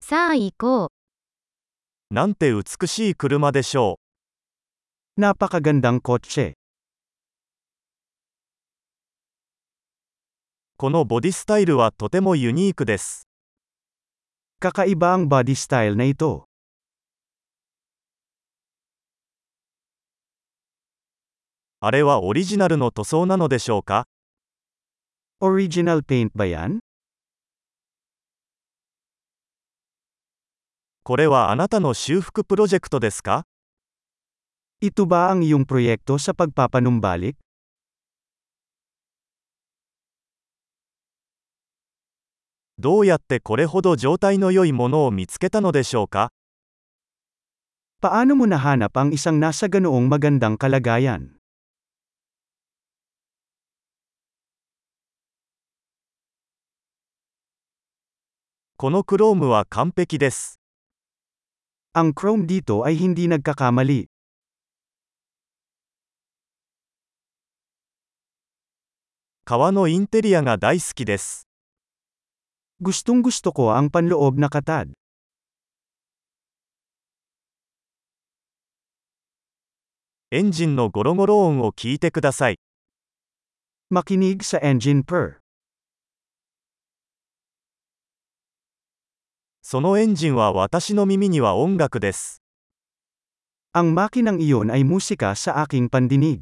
さあ行こう。 なんて美しい車でしょ Napakagandang kotse. う。このボディスタイルはとてもユニークです。 Kakaiba ang body style na ito. あれはオリジナルの塗装なのでしょうか？ Original paint ba yan? これはあなたの修復プロジェクトですか？ Ito ba ang iyong proyekto sa pagpapanumbalik? どうやってこれほど状態の良いものを見つけたのでしょうか？ Paano mo nahanap ang isang nasa ganoong magandang kalagayan? このクロームは完璧です。 Ang chrome dito ay hindi nagkakamali. 革のインテリアが大好きです。 Gustong-gusto ko ang panloob na katad. エンジンのゴロゴロ音を聞いてください。 Makinig sa engine purr. そのエンジンは私の耳には音楽です。 Ang makinang iyon ay musika sa aking pandinig.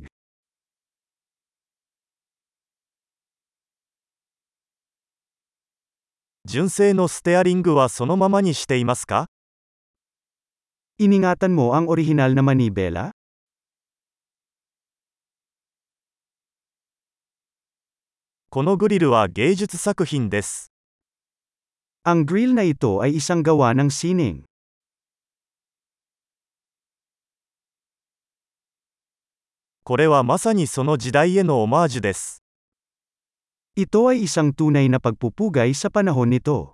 純正のステアリングはそのままにしていますか？ Iningatan mo ang orihinal na manibela? このグリルは芸術作品です。 Ang grill na ito ay isang gawa ng sining. これはまさにその時代へのオマージュです。 Ito ay isang tunay na pagpupugay sa panahon nito.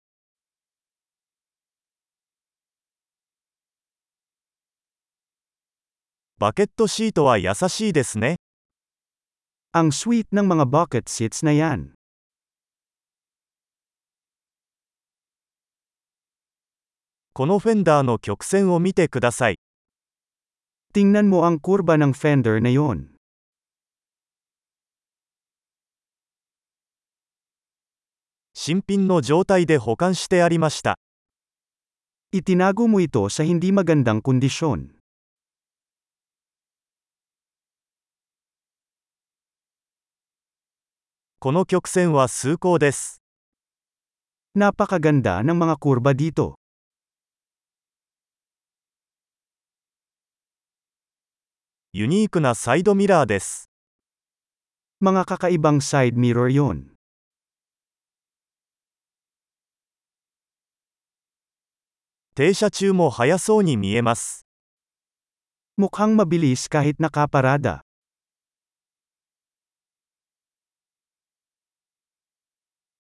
バケットシートは優しいですね。 Ang sweet ng mga bucket seats na yan. このフェンダーの曲線を見てください。 Tingnan mo ang kurba ng fender na yon. 新品の状態で保管してありました。 Itinago mo ito sa hindi magandang kondisyon. この曲線は崇高です。 Napakaganda ng mga kurba dito. ユニークなサイドミラーです。 Mga kakaibang side mirror yon. 停車中も速そうに見えます。 Mukhang mabilis kahit nakaparada.